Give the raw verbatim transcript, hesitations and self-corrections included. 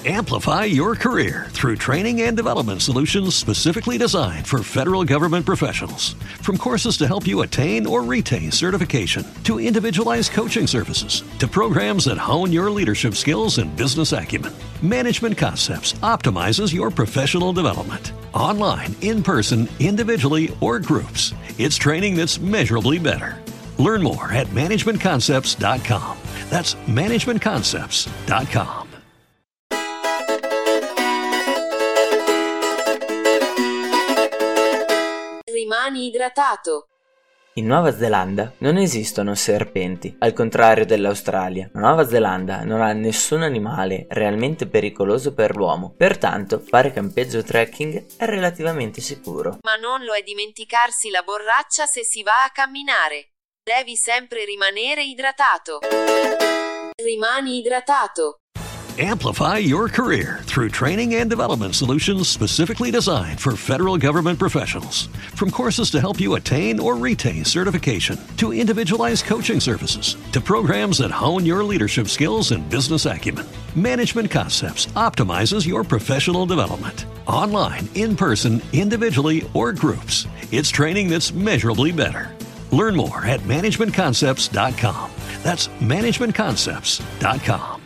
Amplify your career through training and development solutions specifically designed for federal government professionals. From courses to help you attain or retain certification, to individualized coaching services, to programs that hone your leadership skills and business acumen, Management Concepts optimizes your professional development. Online, in person, individually, or groups, it's training that's measurably better. Learn more at management concepts dot com. That's management concepts dot com. Rimani idratato. In Nuova Zelanda non esistono serpenti, al contrario dell'Australia. La Nuova Zelanda non ha nessun animale realmente pericoloso per l'uomo, pertanto fare campeggio trekking è relativamente sicuro. Ma non lo è dimenticarsi la borraccia se si va a camminare. Devi sempre rimanere idratato. Rimani idratato. Amplify your career through training and development solutions specifically designed for federal government professionals. From courses to help you attain or retain certification, to individualized coaching services, to programs that hone your leadership skills and business acumen, Management Concepts optimizes your professional development. Online, in person, individually, or groups, it's training that's measurably better. Learn more at management concepts dot com. That's management concepts dot com.